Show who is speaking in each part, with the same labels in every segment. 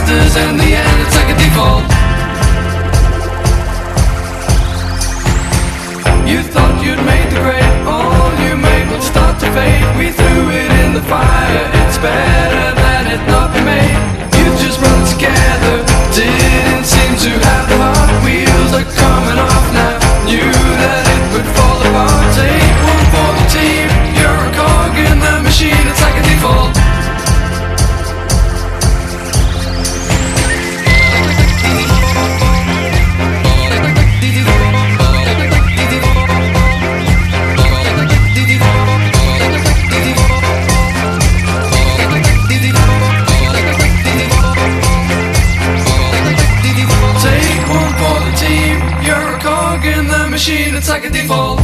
Speaker 1: disasters. In the end, it's like a default. You thought you'd made the grade, all you made would start to fade. We threw it in the fire, it's better than it not be made. You just run together, didn't seem to have the heart. Wheels are coming off now, knew that it would fall apart. Take one for the team, you're a cog in the machine, it's like a default. Machine, it's like a default.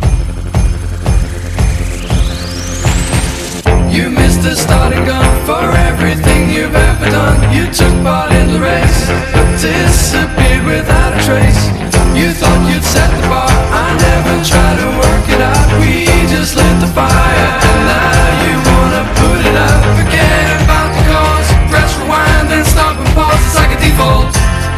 Speaker 1: You missed the starting gun for everything you've ever done. You took part in the race, but disappeared without a trace. You thought you'd set the bar, I never tried to work it out. We just lit the fire, and now you wanna put it out. Forget about the cause, press rewind, then stop and pause, it's like a default.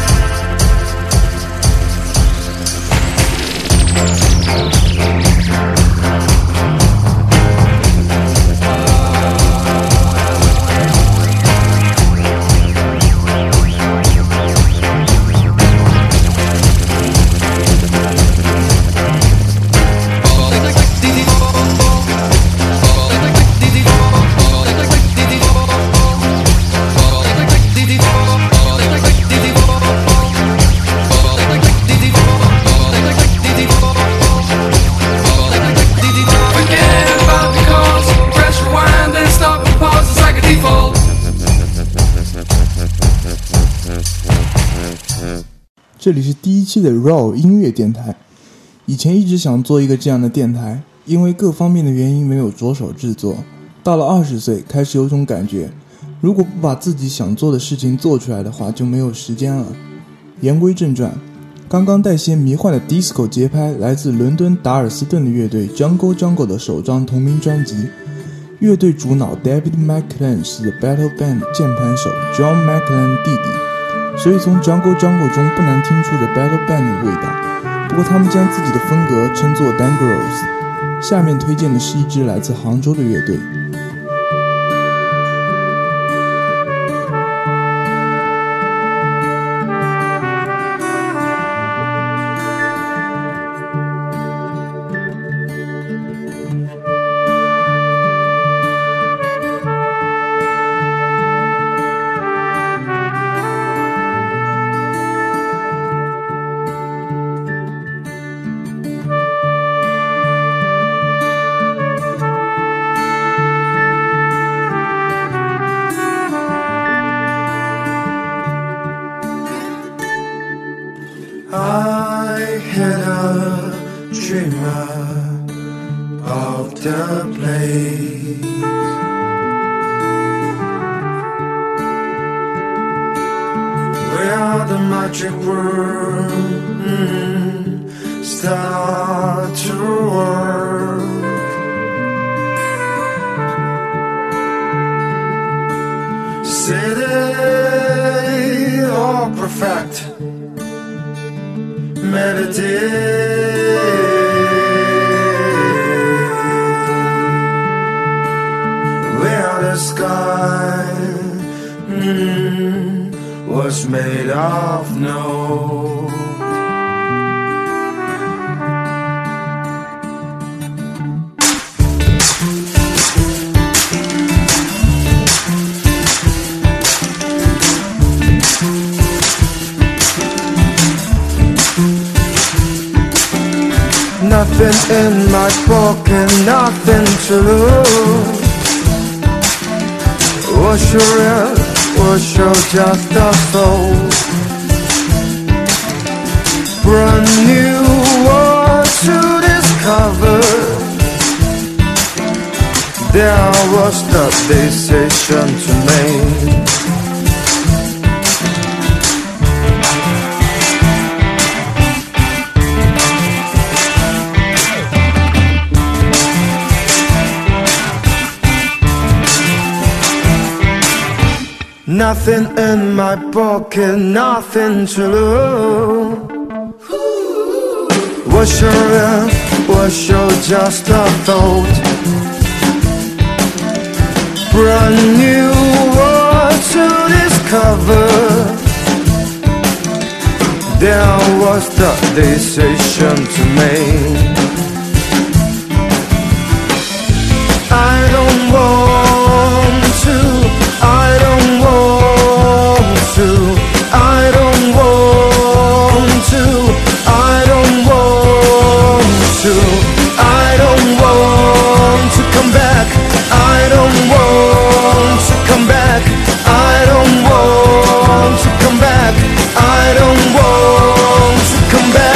Speaker 2: 这里是第一期的 Raw 音乐电台。以前一直想做一个这样的电台，因为各方面的原因没有着手制作。到了20岁，开始有种感觉，如果不把自己想做的事情做出来的话，就没有时间了。言归正传，刚刚带些迷幻的 disco 节拍，来自伦敦达尔斯顿的乐队 Jungle Jungle 的首张同名专辑。乐队主脑 David McClellan 是 The Battle Band 键盘手 John McClellan 弟弟，所以从 Jungle Jungle 中不难听出 The Battle Band 的味道。不过他们将自己的风格称作 Dangerous。下面推荐的是一支来自杭州的乐队。
Speaker 3: I had a dreamer of the place where the magic world start to work. City all perfect melody, where the sky was made of snow. Nothing in my book and nothing true. Was you real? Was you just a soul? Brand new world to discover. There was the decision to make. nothing in my pocket, nothing to lose. Was your if, was your just a thought? Brand new world to discover. There was the decision to make. I don't want to, I don't want to, I don't want to, I don't want to, I don't want to come back, I don't want to come back, I don't want to come back, I don't want to come back.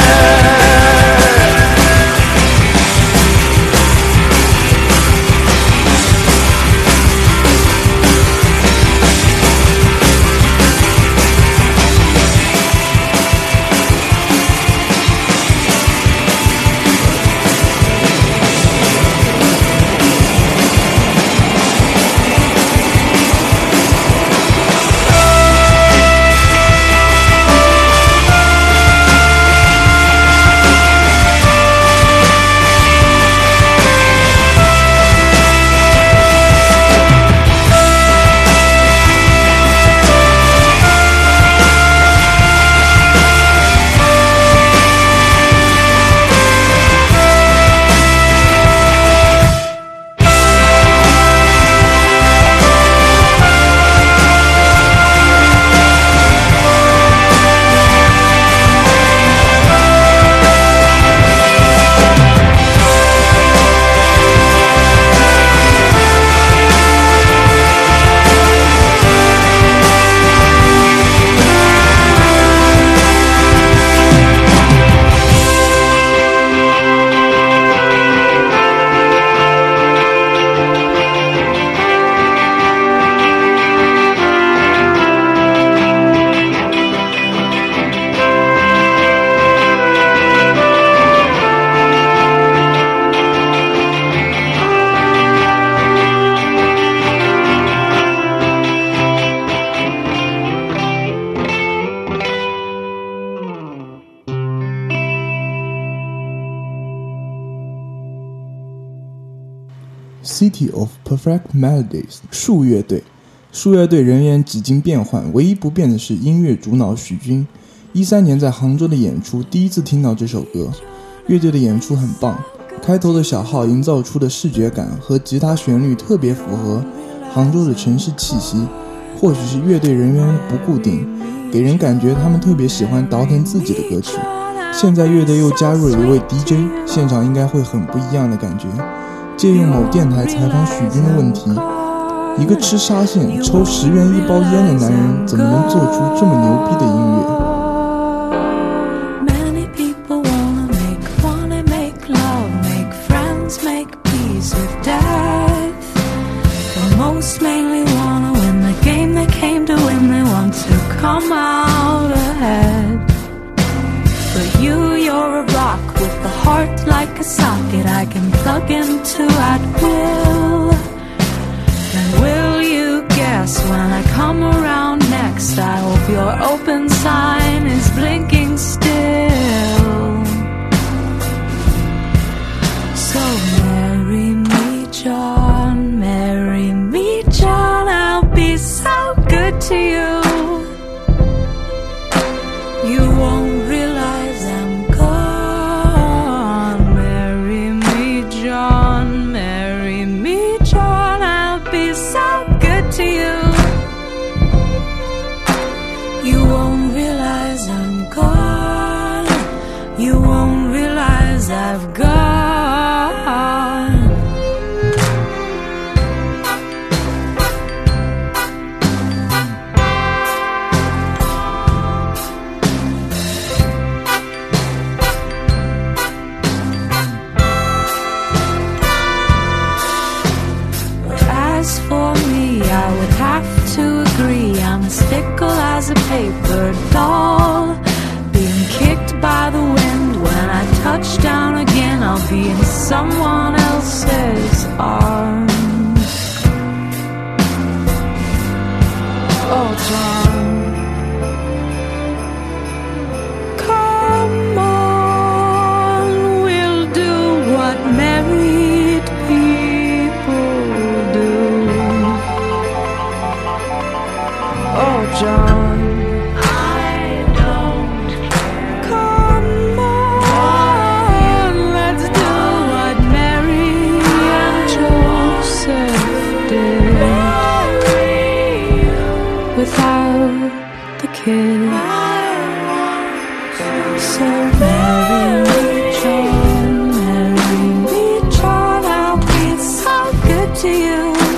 Speaker 2: City of Perfect Melodies 树乐队。树乐队人员几经变换，唯一不变的是音乐主脑许军。13年在杭州的演出，第一次听到这首歌。乐队的演出很棒，开头的小号营造出的视觉感和吉他旋律特别符合杭州的城市气息。或许是乐队人员不固定，给人感觉他们特别喜欢倒腾自己的歌曲。现在乐队又加入了一位 DJ， 现场应该会很不一样的感觉。借用某电台采访许军的问题，一个吃沙县抽10元1包烟的男人，怎么能做出这么牛逼的音乐？
Speaker 4: Like a socket I can plug into at will. And will you guess when I come around next? I hope your open sign is blinking still. So marry me, John, marry me, John. I'll be so good to you. You won't realize I'm gone. To you, you won't realize I'm gone. You won't realize I've gone. As for me, I would have to agree I'm as fickle as a paper doll, being kicked by the wind. When I touch down again, I'll be in someone else's arms. Oh, John, come on, we'll do what married people do. Oh, John, I don't care. Come on, let's do what Mary and Joseph did without the kid. So marry me, John, I'll be so good to you.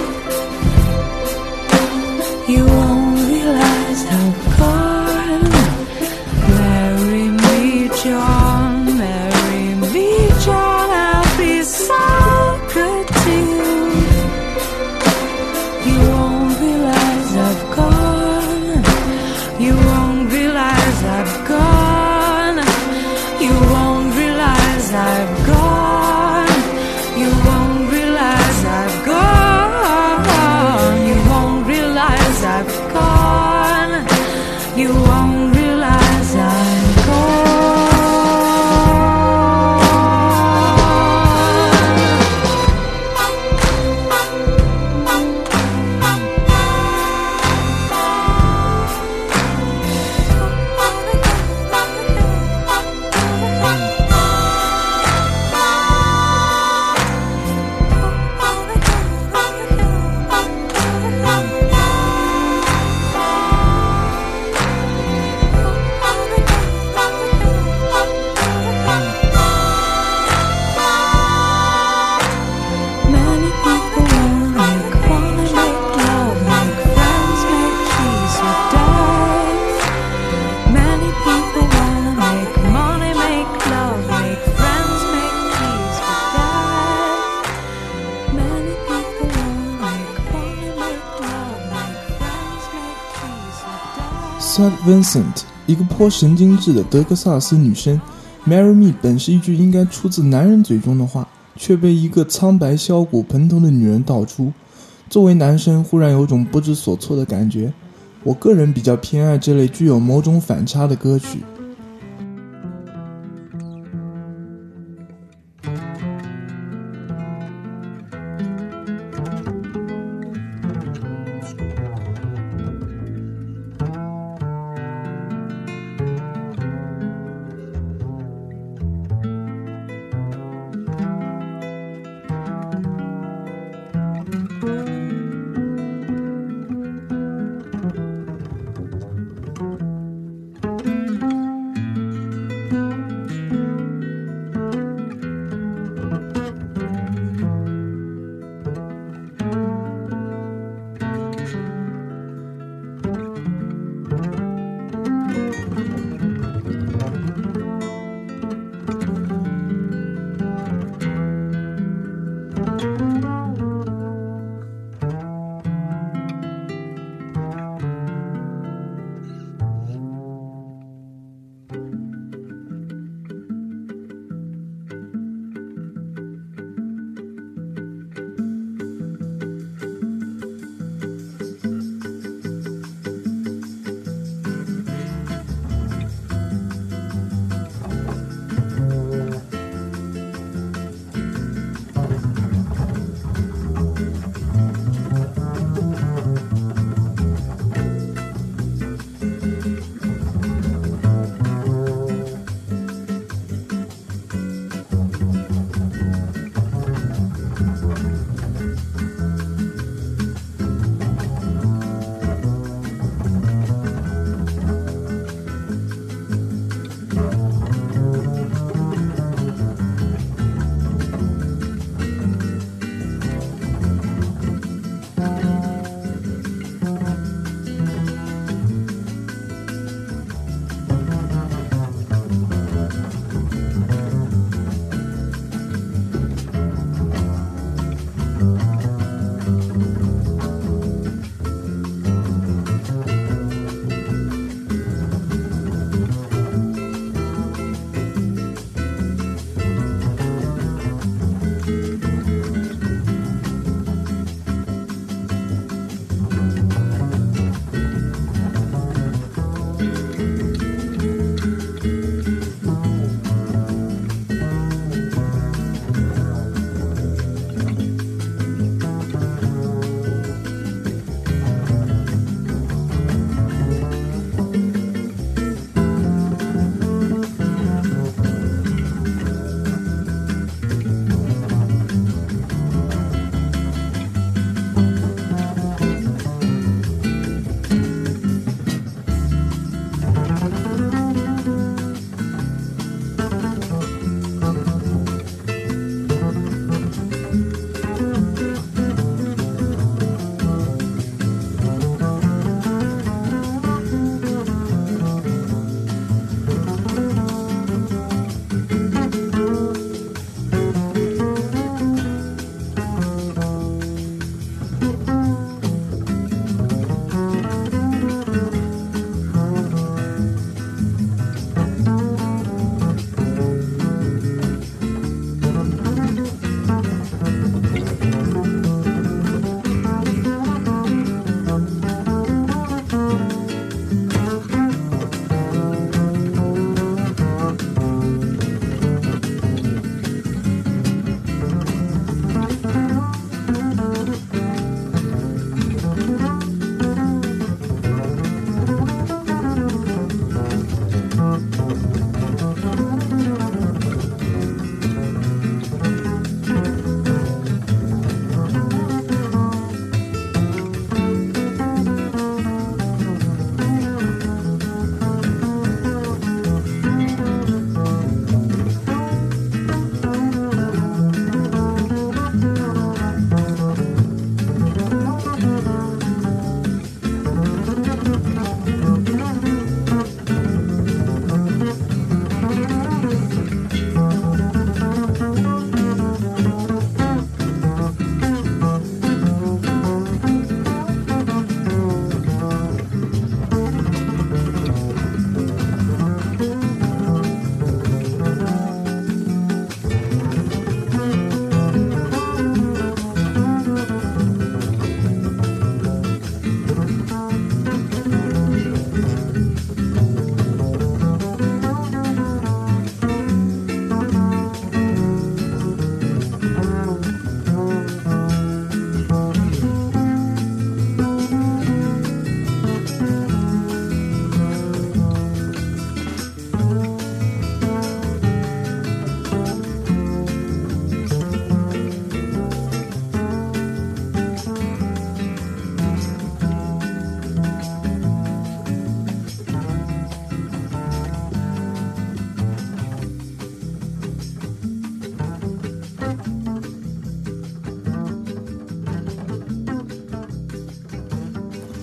Speaker 4: You won't realize how gone. Marry me, John, I'll be so good to you. You won't realize I've gone. You won't realize I've gone. You won't realize I've gone. You won't realize I've gone. You won't realize I've gone. You won't realize I'm gone. Many people wanna make love, make friends, make peace with death. Many people wanna make money, make love, make friends, make peace with death. Many people wanna make money, make love, make friends, make peace with death.
Speaker 2: St. Vincent， 一个颇神经质的德克萨斯女生。Marry me 本是一句应该出自男人嘴中的话，却被一个苍白削骨盆头的女人道出。作为男生，忽然有种不知所措的感觉。我个人比较偏爱这类具有某种反差的歌曲。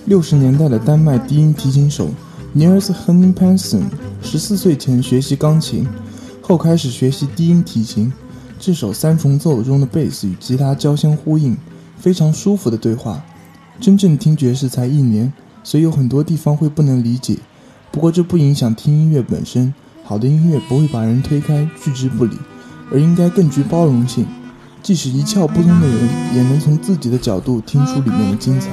Speaker 2: 60年代的丹麦低音提琴手 Niels Henning Pedersen 14岁前学习钢琴，后开始学习低音提琴。这首三重奏中的贝斯与吉他交相呼应，非常舒服的对话。真正听爵士才1年，所以有很多地方会不能理解，不过这不影响听音乐本身。好的音乐不会把人推开拒之不理，而应该更具包容性，即使一窍不通的人也能从自己的角度听出里面的精彩。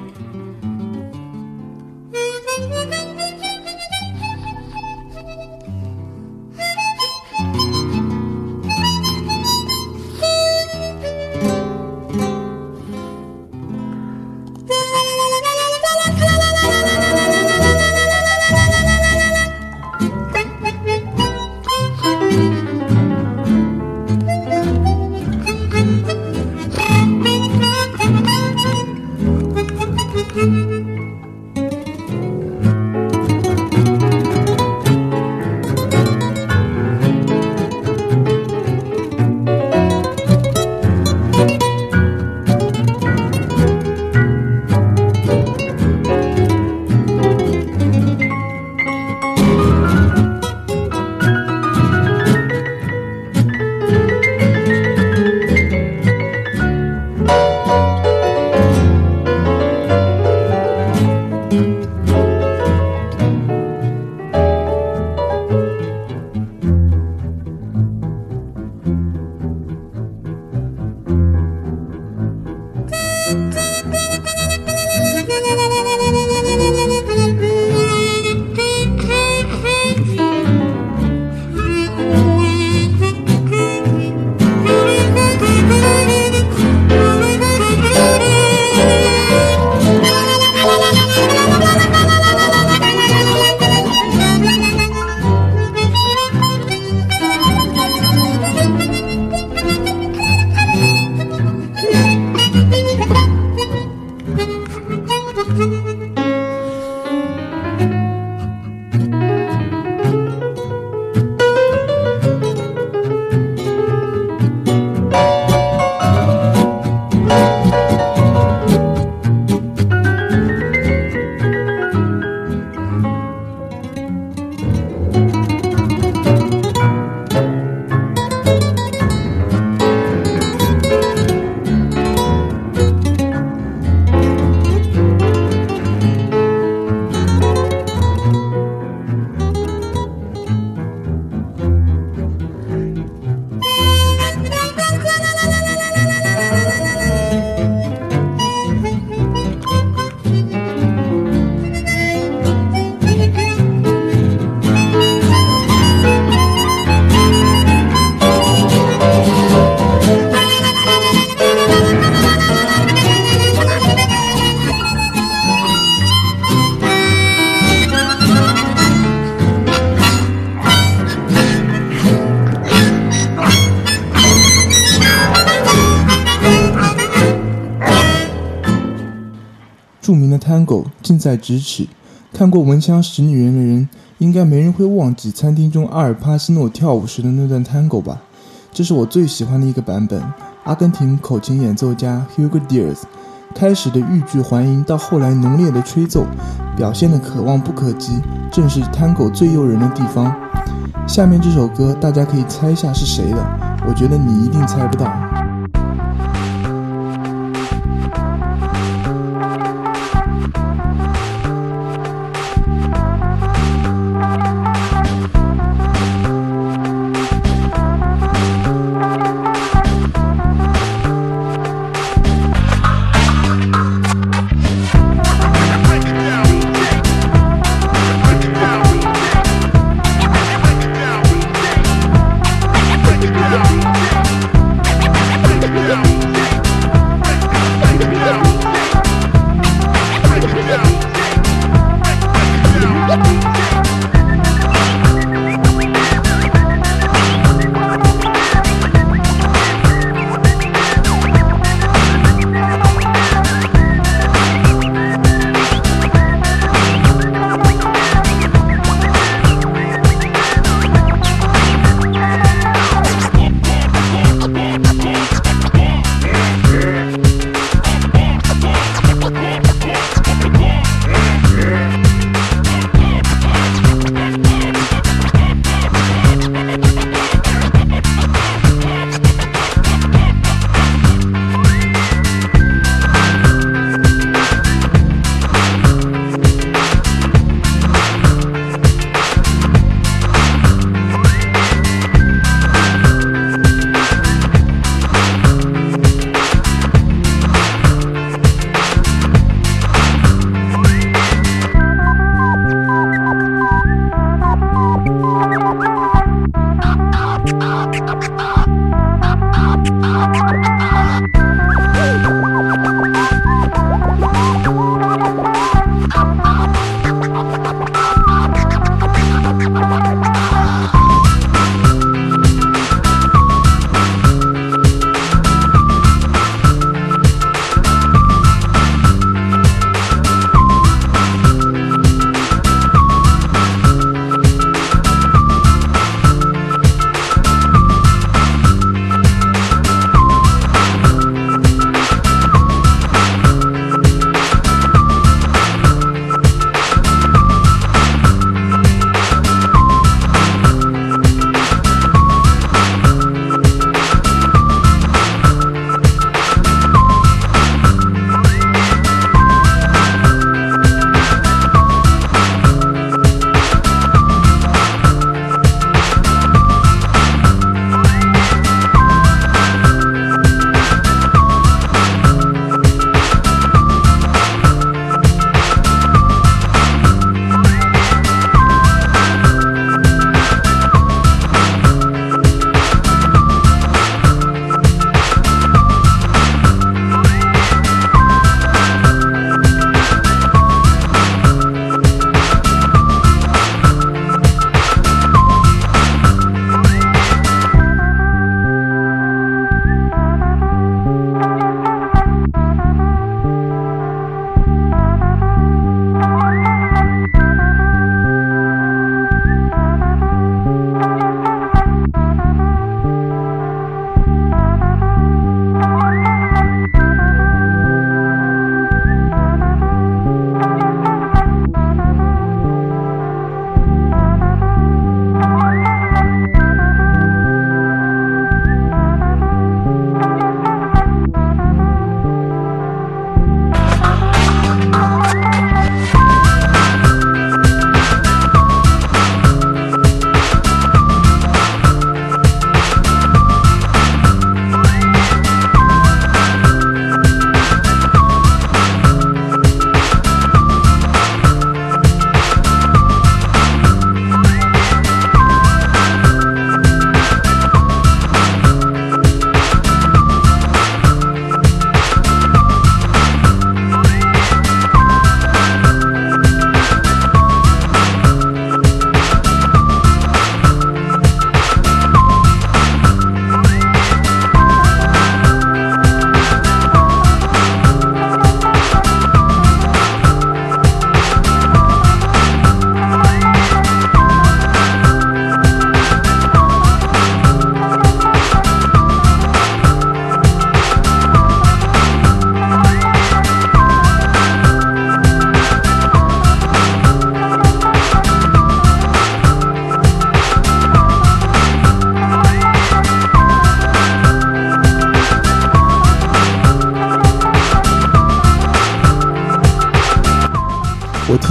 Speaker 2: 著名的 Tango 近在咫尺，看过《闻香识女人》的人，应该没人会忘记餐厅中阿尔帕西诺跳舞时的那段 Tango 吧？这是我最喜欢的一个版本。阿根廷口琴演奏家 Hugo Diaz 开始的欲拒还迎，到后来浓烈的吹奏，表现的可望不可及，正是 Tango 最诱人的地方。下面这首歌大家可以猜一下是谁的，我觉得你一定猜不到。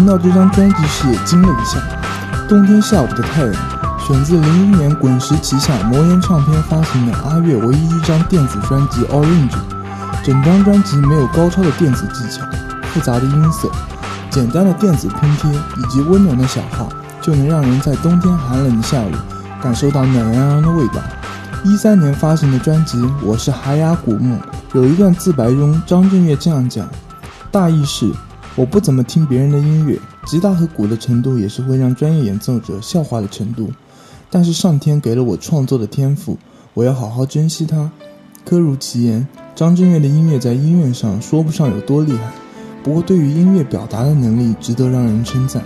Speaker 2: 到这张专辑时也惊了一下，《冬天下午的太阳》选自01年滚石旗下魔岩唱片发行的阿月唯一一张电子专辑《Orange》。整张专辑没有高超的电子技巧，复杂的音色，简单的电子拼贴以及温暖的小号，就能让人在冬天寒冷的下午感受到暖洋洋的味道。13年发行的专辑《我是海雅古木》有一段自白中，张震岳这样讲，大意是我不怎么听别人的音乐，吉他和鼓的程度也是会让专业演奏者笑话的程度，但是上天给了我创作的天赋，我要好好珍惜它。科如其言，张震岳的音乐在音乐上说不上有多厉害，不过对于音乐表达的能力值得让人称赞。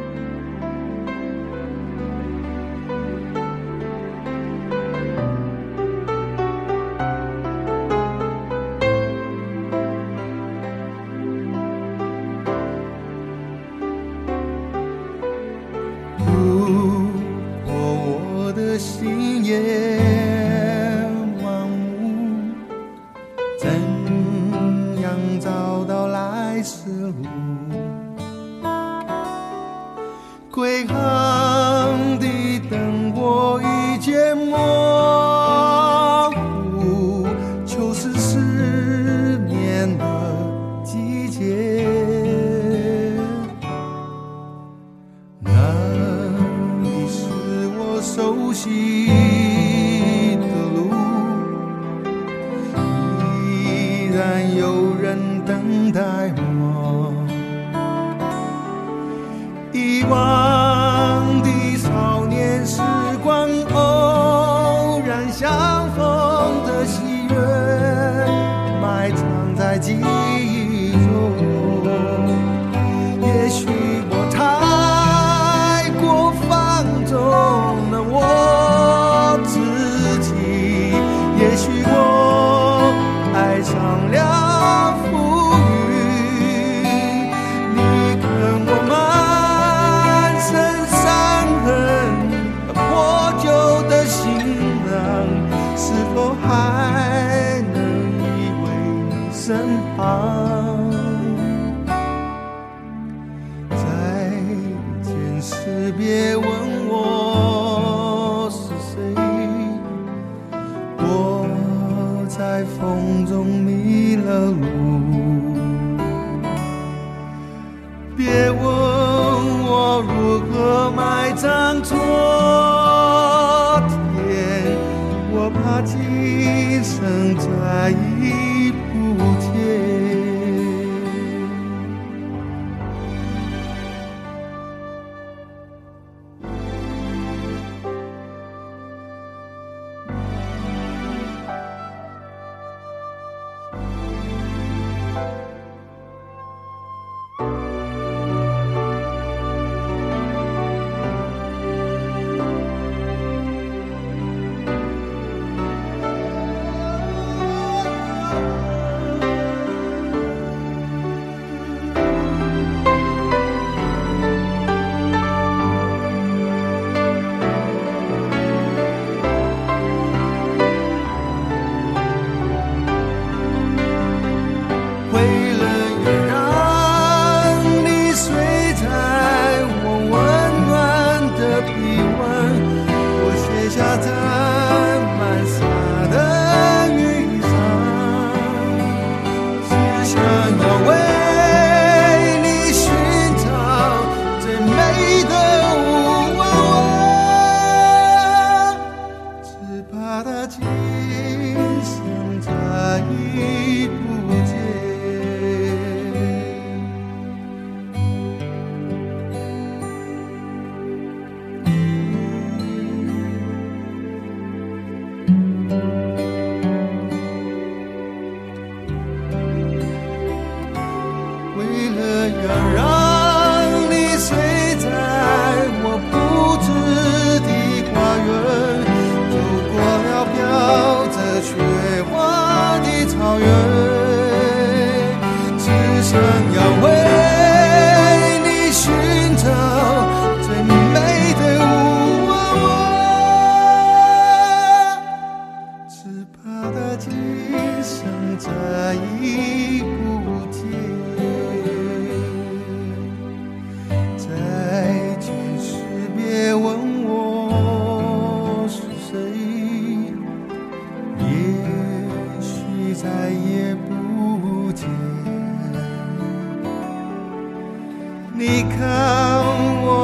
Speaker 3: 如果我的心也盲目，怎样找到来时路？归航的灯火已渐模糊，秋是失眠的季节。那里是我熟悉的路，依然有人等待吗？遗忘的少年时光，偶然相逢的喜悦，埋藏在记忆中。也许我太过放纵了我自己，也许我爱上了浮云。你跟我满身伤痕，破旧的行囊，是否还能依偎你身旁？再见时别问我是谁，我在风中迷了路。别问我如何埋葬昨天，我怕今生再已不见。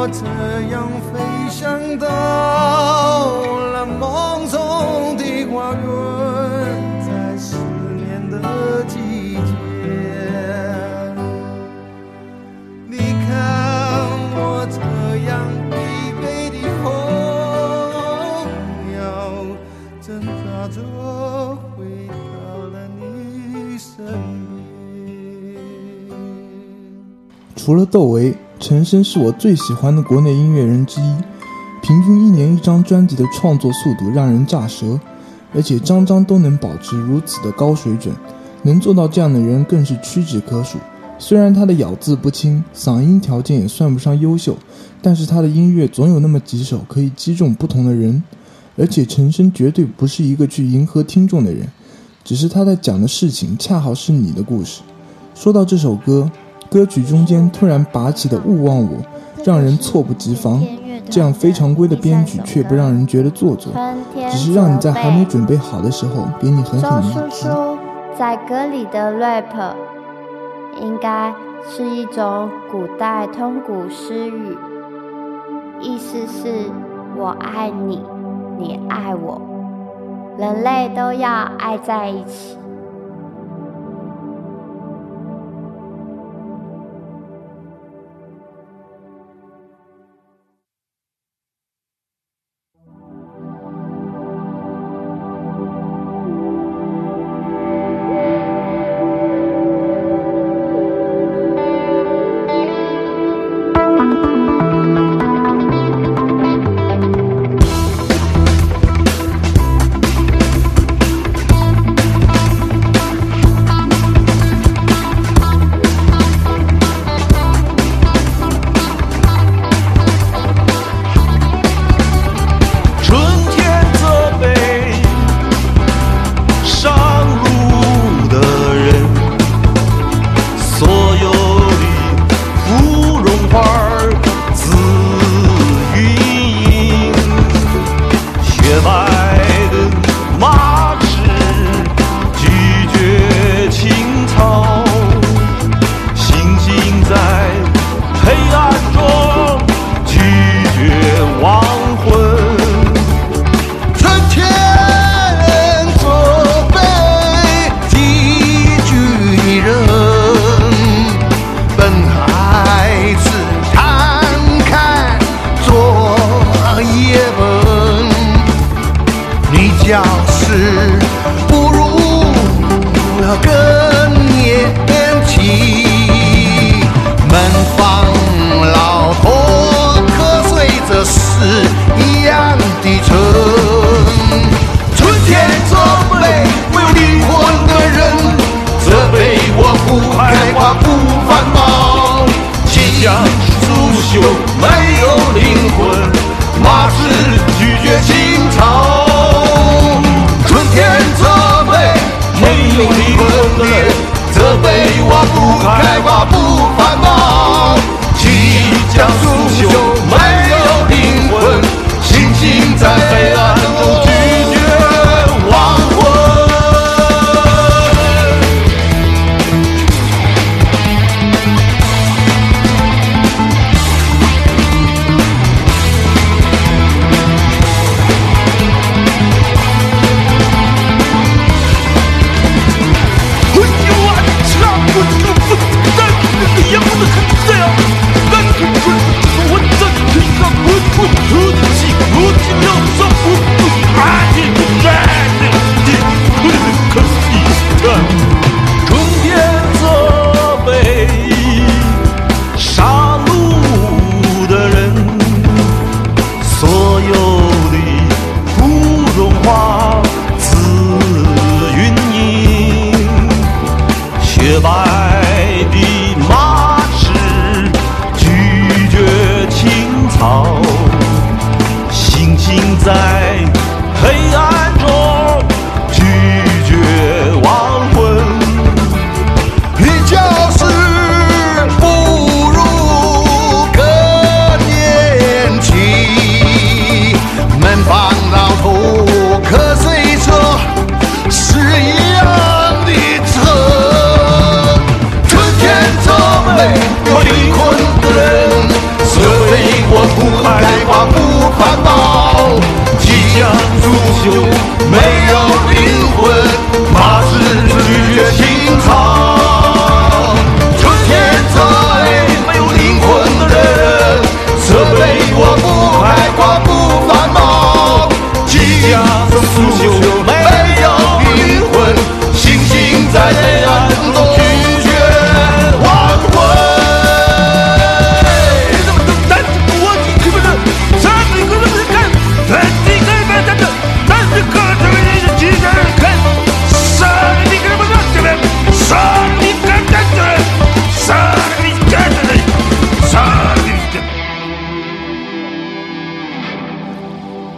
Speaker 3: 我这样飞翔到了梦中的花园，在思念的季节。你看我这样疲惫的候鸟，挣扎着回到了你身边。
Speaker 2: 除了窦唯，陈升是我最喜欢的国内音乐人之一，平均1年1张专辑的创作速度让人咋舌，而且张张都能保持如此的高水准，能做到这样的人更是屈指可数。虽然他的咬字不清，嗓音条件也算不上优秀，但是他的音乐总有那么几首可以击中不同的人，而且陈升绝对不是一个去迎合听众的人，只是他在讲的事情恰好是你的故事。说到这首歌，歌曲中间突然拔起的勿忘我让人猝不及防，这样非常规的编曲却不让人觉得做作，只是让你在还没准备好的时候给你狠狠的一击。
Speaker 5: 在歌里的 rap 应该是一种古代通古诗语，意思是我爱你，你爱我，人类都要爱在一起。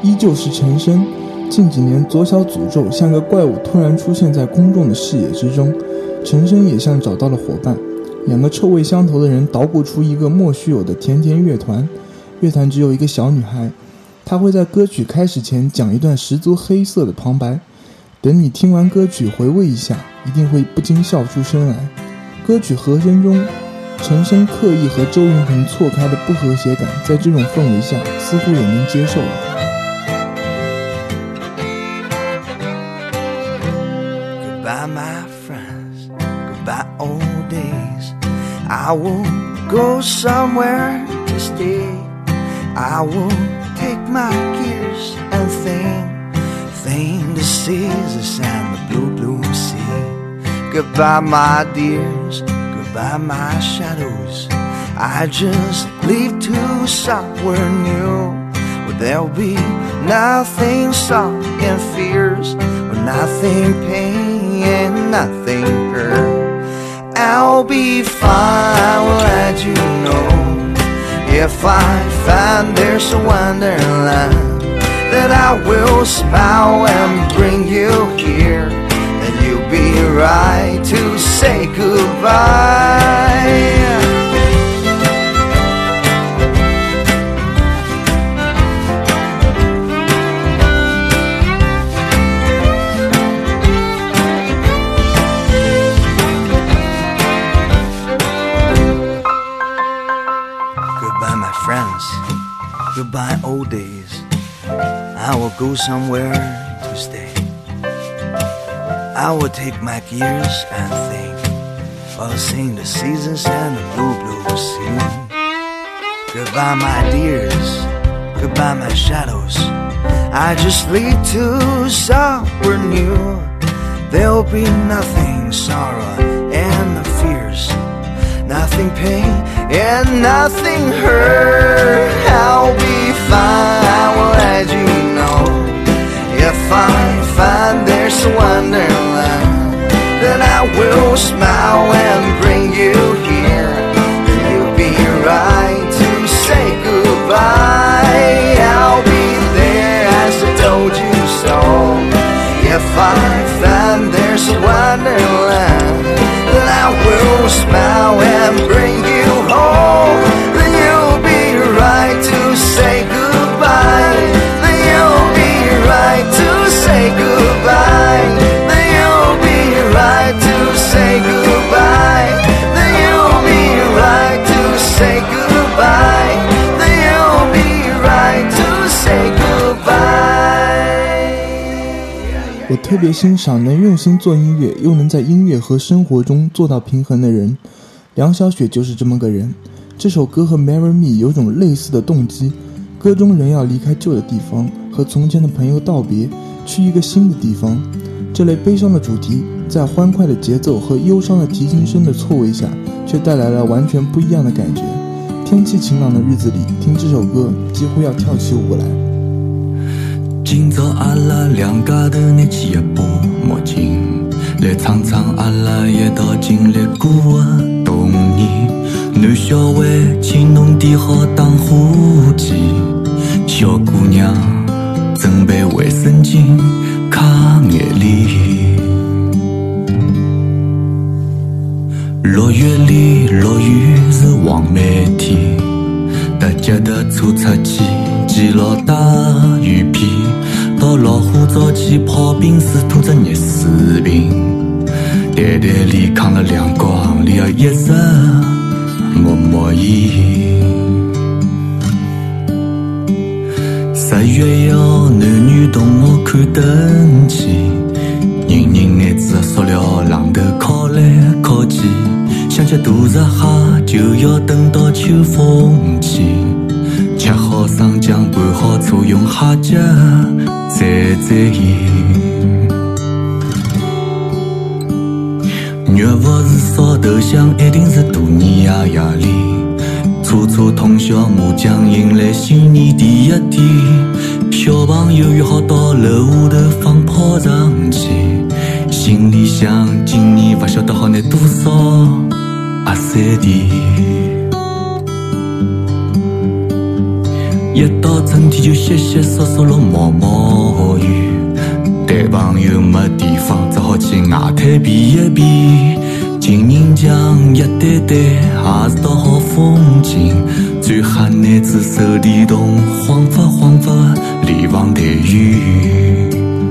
Speaker 2: 依旧是陈升。近几年左小诅咒像个怪物突然出现在公众的视野之中，陈升也像找到了伙伴，两个臭味相投的人捣鼓出一个莫须有的甜甜乐团。乐团只有一个小女孩，她会在歌曲开始前讲一段十足黑色的旁白，等你听完歌曲回味一下，一定会不禁笑出声来。歌曲和声中陈升刻意和周云鹏错开的不和谐感，在这种氛围下似乎也能接受了。
Speaker 3: Goodbye, my friends. Goodbye, old days. I will go somewhere to stay. I will take my gears and thing the seas and the blue sea. Goodbye, my dears. Goodbye, my shadows. I just leave to somewhere new, where there'll be nothing sorrow and fears, or nothing pain and nothing hurt. I'll be fine, I will let you know. If I find there's a wonderland, that I will smile and bring you here, then you'll be right to say goodbye. Goodbye, my friends. Goodbye, old days. I will go somewhere to stay. I will take my gears and think, while sing the seasons and the blue sea. Goodbye, my dears. Goodbye, my shadows. I just leave to somewhere new. There'll be nothing sorrow and no fears, nothing pain and nothing hurt. I'll be fine, I will let you know. If I find there's a wonderland, then I will smile and bring you here, then you'll be right to say goodbye. I'll be there as I told you so. If I find there's a wonderland, then I will smile and bring you home, then you'll be right to say goodbye, then you'll be right to say goodbye, then you'll be right to say goodbye, then you'll be right to say goodbye, then you'll be right to say goodbye.
Speaker 2: 我特别欣赏能用心做音乐又能在音乐和生活中做到平衡的人，梁晓雪就是这么个人。这首歌和 Marry Me 有种类似的动机，歌中人要离开旧的地方，和从前的朋友道别，去一个新的地方。这类悲伤的主题在欢快的节奏和忧伤的提琴声的错位下，却带来了完全不一样的感觉。天气晴朗的日子里听这首歌几乎要跳起舞来。
Speaker 6: 今朝阿拉两家头拿起一把墨镜，来唱唱阿拉一道经历过的童年。男小孩请侬点好打火机，小姑娘准备卫生巾擦眼泪。6月里落雨是黄梅天，搭脚踏车出去记牢大雨披，到老虎灶前泡冰水拖着热水瓶，袋袋里扛了两光里一直默默烟。10月1男女同学看灯去，人人拿着塑料榔头敲来敲去，想吃大闸蟹就要等到秋风起，吃好生姜拌好醋用虾脚蘸蘸盐。肉不是烧头香，一定是大年夜里，初初通宵麻将迎来新年第一天，小朋友约好到楼下头放炮仗去，心里想今年不晓得好拿多少阿三甜。 一到春天就淅淅簌簌落毛毛雨，谈朋友没地方，只好去外滩避一避。情人墙一对对，也是道好风景。最吓男子手电筒，晃发晃发联防队员。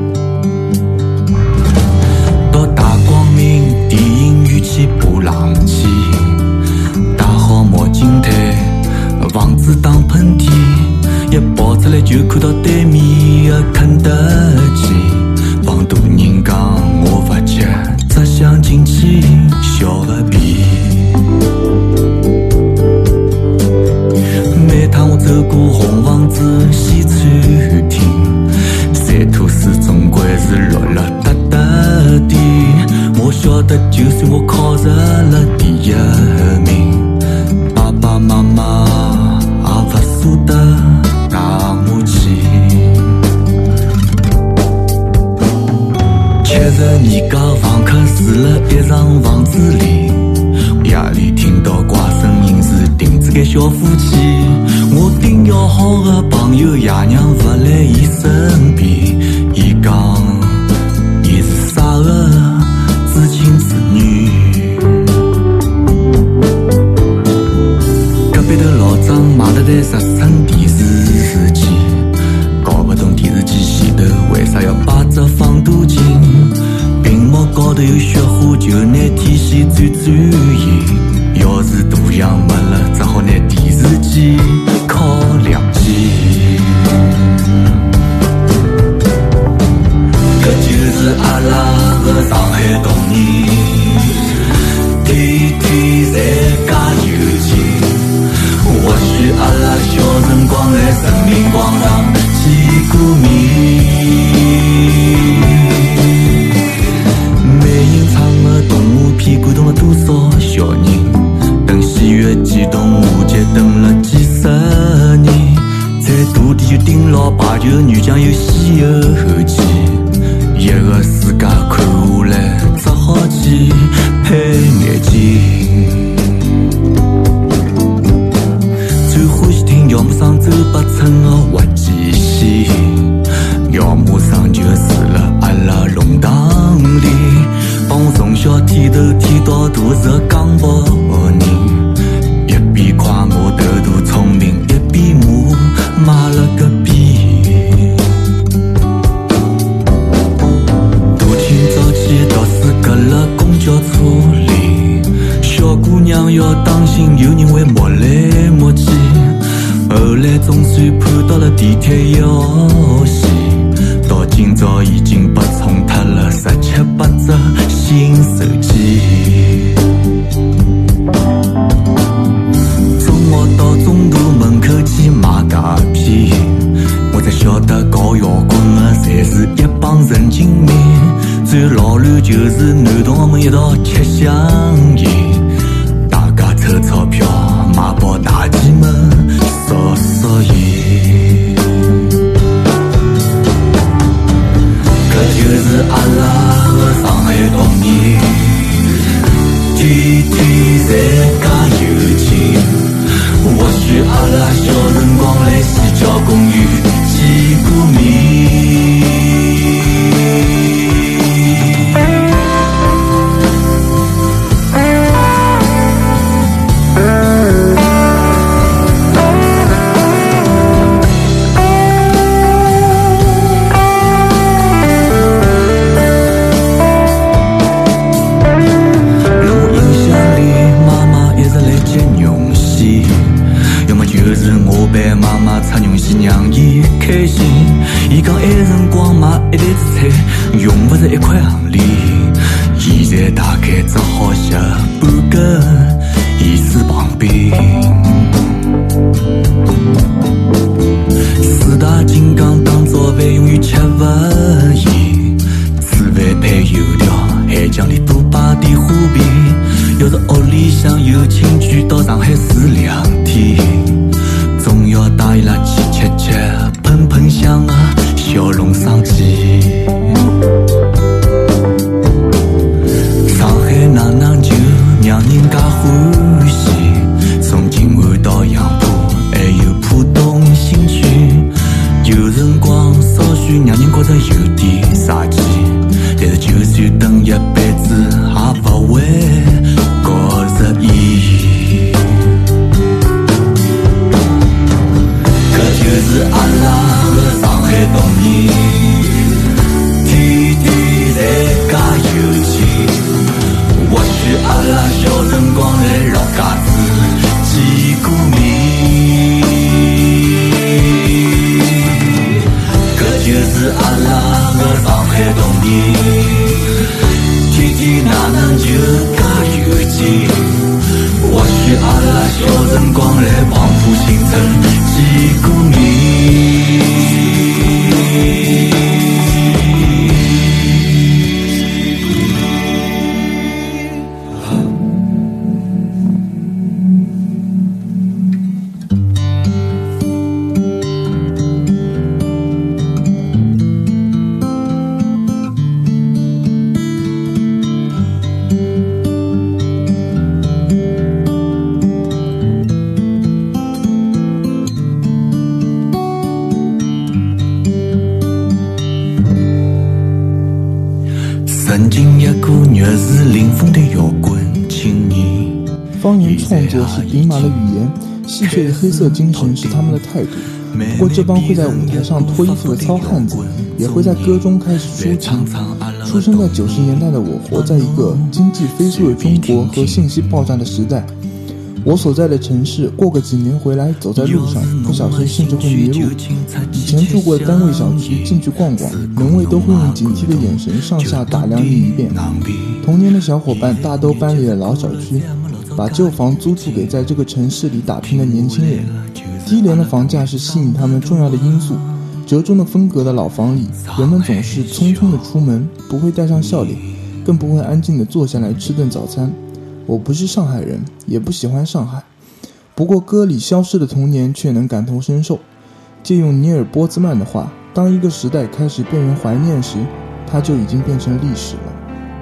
Speaker 6: 到大光明电影院去爬冷气，戴好墨镜头，防止打喷嚏。一跑出来就看到对面的肯德基，帮大人讲我不急，只想进去小个屁。每趟我走过红房子西餐厅，三吐司总归是落了哒哒的。我晓得就算我考入了第一名，爸爸妈妈也不舍得带我去。70年家房客住了一幢房子里，夜里听到怪声音是钉子间小夫妻。我顶要好的朋友爷娘不来伊身边，伊讲伊是傻的知青子女。隔壁头老张买了台10寸电视机，搞不懂电视机前头为啥要摆只放大镜，屏幕高头有雪花就拿天线转转移，要是大洋没了只好拿电视机靠两机。搿就是阿拉的上海童年，天天侪加油劲。或许阿拉小辰光来人民广场见过面，美人唱的动画片感动了多少小人，等喜悦激动无节等了几十年，在大地就顶牢排球女将有西后记，一个世界看下来只好去配眼镜。最欢喜听姚木上周伯春的滑稽戏，姚木上就住了阿拉弄堂里，帮我从小剃头剃到大是个江北人，一边夸我头大聪明，一边骂买了个逼。大清早起读书隔了公交车里，小姑娘要当心有人会摸来摸去，后来总算盼到了地铁1号线，到今朝已经被冲脱了17、18只新手机。中学到中途门口去买假片，我才晓得搞摇滚的侪是一帮神经病，最老卵就是男同学们一道吃香烟，大家凑钞票买包大气门烧烧烟。搿就是阿拉的上海童年，天天侪加油劲。或许阿拉小辰光来西郊公园见过面。妈妈擦绒线让伊开心，伊讲埃辰光买一袋子菜用不着1块行钿，现在大概只好吃半根盐水棒冰。4大金刚当早饭永远吃不厌，吃饭配油条，海酱里多摆点花瓶。要是屋里向有亲眷到上海住2天，总要带伊拉去吃吃喷喷香的小笼生鸡。上海哪能就让人家欢喜？从今着有点傻气，但是就算等一辈子，也不会觉着意义。搿就是阿拉的上海童年，天天在加油钱。或许阿拉小辰光来老家子见过面，搿就是阿拉的上海童年，天天哪能就加油钱？或许阿拉小辰光来黄浦新村见过面。曾经一个热是林峰的摇滚青年。
Speaker 2: 方言创作是顶马的语言，戏谑的黑色精神是他们的态度。不过这帮会在舞台上脱衣服的糙汉子，也会在歌中开始抒情。出生在90年代的我，活在一个经济飞速的中国和信息爆炸的时代。我所在的城市，过个几年回来，走在路上，不小心甚至会迷路。以前住过的单位小区，进去逛逛，门卫都会用警惕的眼神上下打量你一遍。童年的小伙伴大都搬离了老小区，把旧房租住给在这个城市里打拼的年轻人。低廉的房价是吸引他们重要的因素。折中的风格的老房里，人们总是匆匆的出门，不会带上笑脸，更不会安静地坐下来吃顿早餐。我不是上海人，也不喜欢上海，不过歌里消失的童年却能感同身受。借用尼尔·波兹曼的话，当一个时代开始被人怀念时，它就已经变成历史了。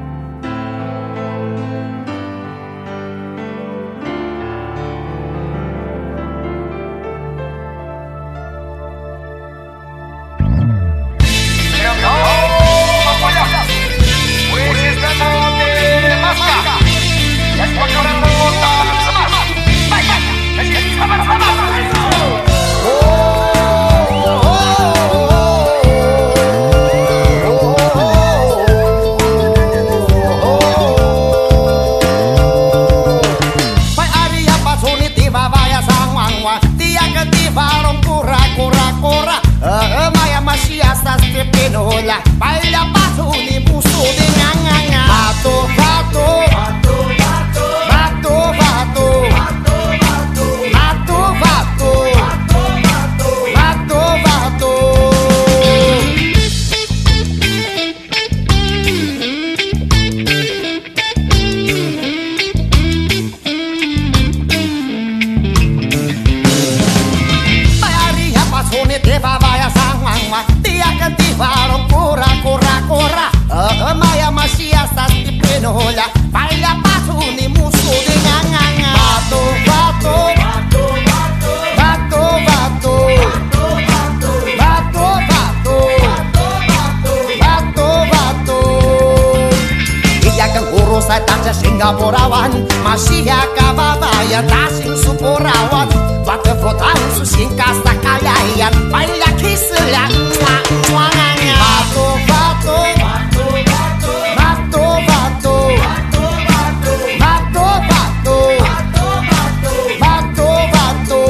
Speaker 3: Singapurawan masih kababaya tasing supurawan batu fotan susingkas tak kalian banyak kisah cuangannya batu batu batu batu batu batu batu batu batu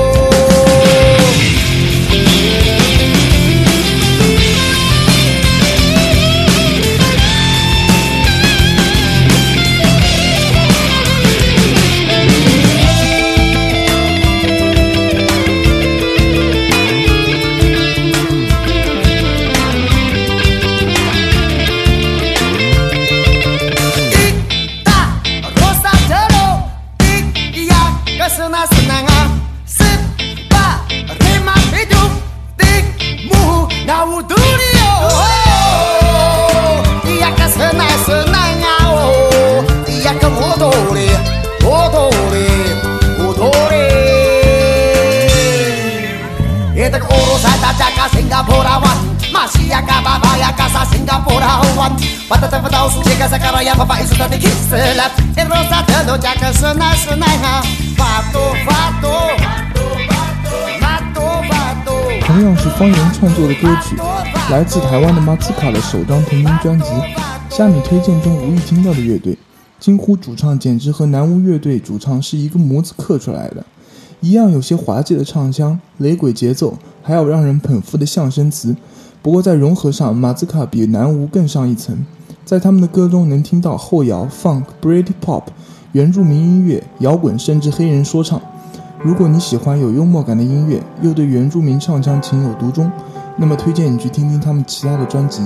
Speaker 3: Singapurawan
Speaker 7: 马西亚、嘎巴巴呀、嘎萨、新加坡的好玩。我的政府都是这个萨卡罗亚，爸爸艺术家的 kiss 了。这罗萨特罗加克是那是那哈，法多法多法多法多。
Speaker 2: 同样是方言创作的歌曲，来自台湾的马兹卡的首张同名专辑。下面推荐中无意听到的乐队，惊呼主唱简直和南巫乐队主唱是一个模子刻出来的，一样有些滑稽的唱腔、雷鬼节奏，还有让人捧腹的象声词。不过在融合上，马兹卡比南巫更上一层，在他们的歌中能听到后摇、funk、British pop、原住民音乐、摇滚，甚至黑人说唱。如果你喜欢有幽默感的音乐，又对原住民唱腔情有独钟，那么推荐你去听听他们其他的专辑。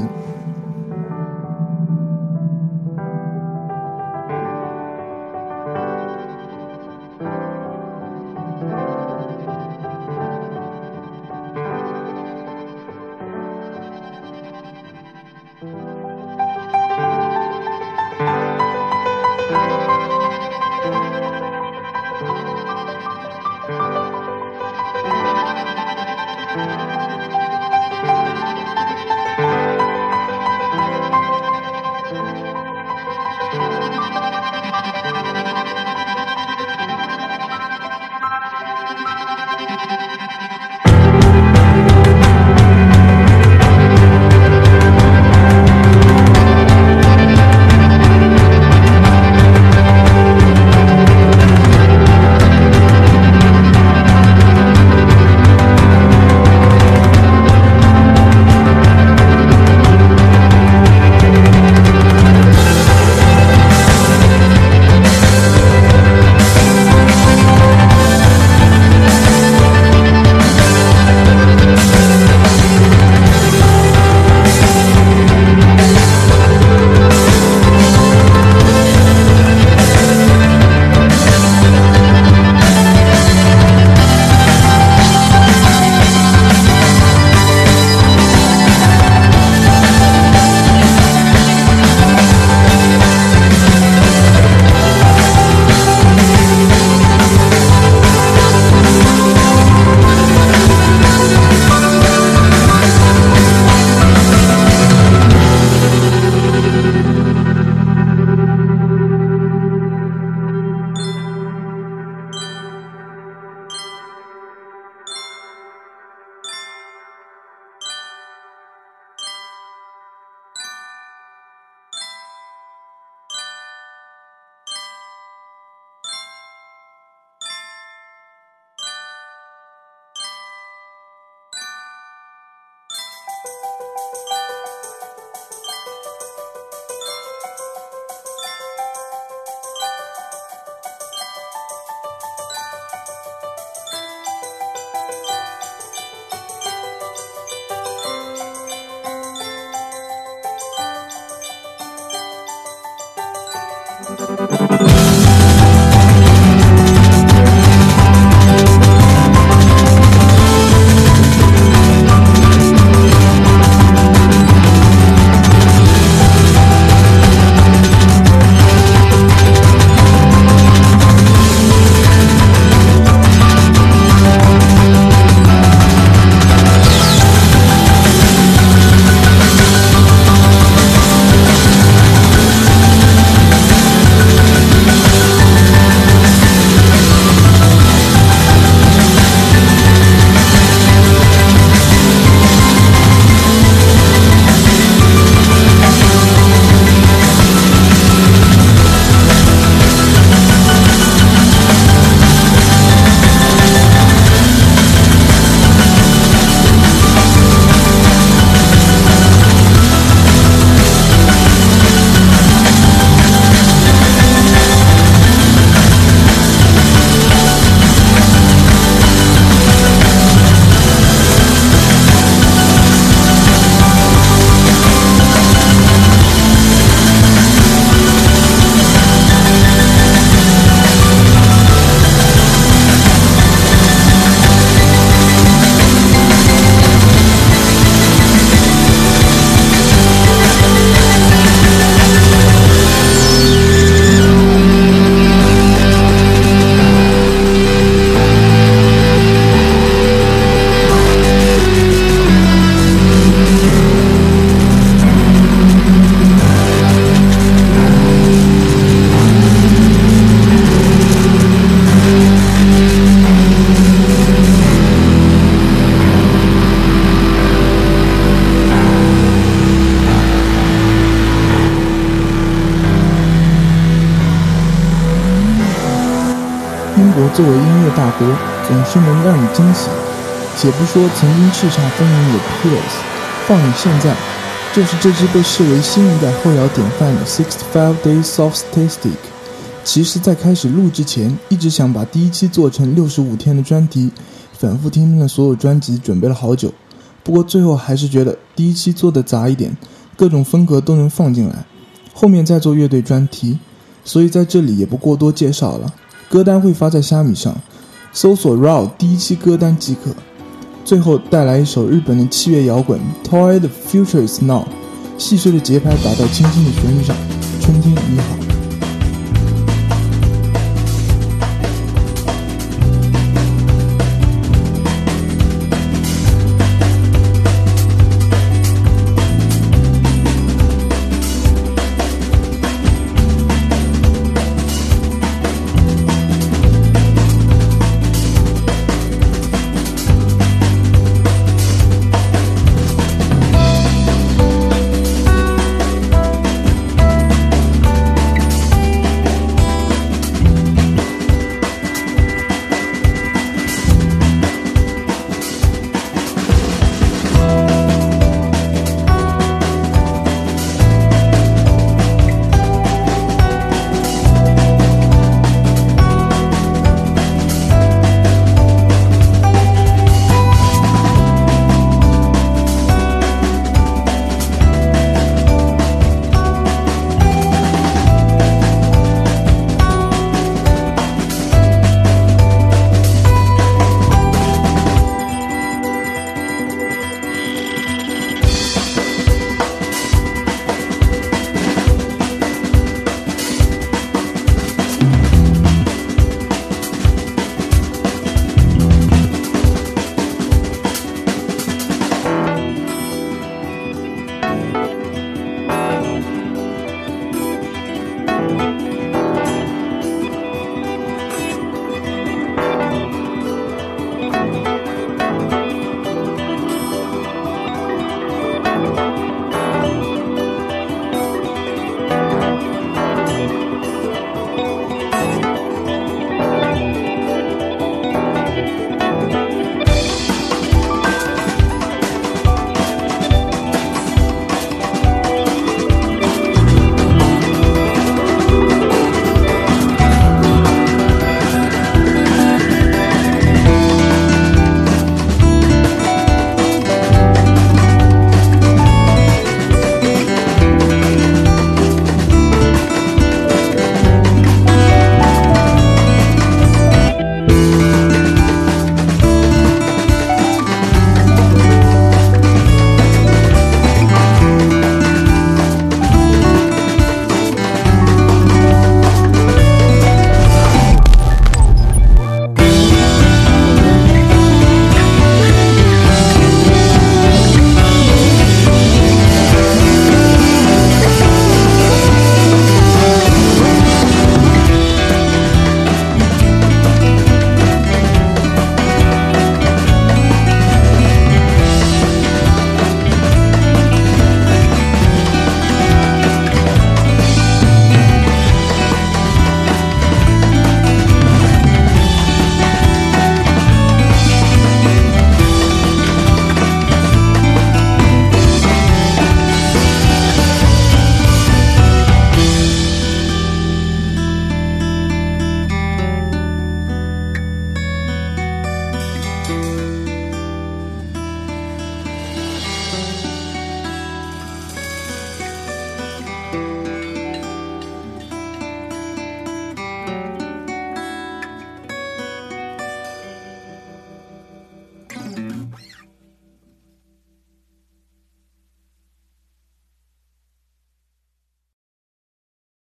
Speaker 2: 国作为音乐大国，总是能让你惊喜。且不说曾经叱咤风云的 Killers， 放眼现在，就是这支被视为新一代后摇典范的 65 Days of Statistic。其实在开始录之前，一直想把第一期做成65天的专题，反复听了所有专辑，准备了好久。不过最后还是觉得第一期做的杂一点，各种风格都能放进来，后面再做乐队专题，所以在这里也不过多介绍了。歌单会发在虾米上，搜索 RAW 第一期歌单即可。最后带来一首日本的7月摇滚 Toy the Future is Now， 细碎的节拍打到轻轻的旋律上。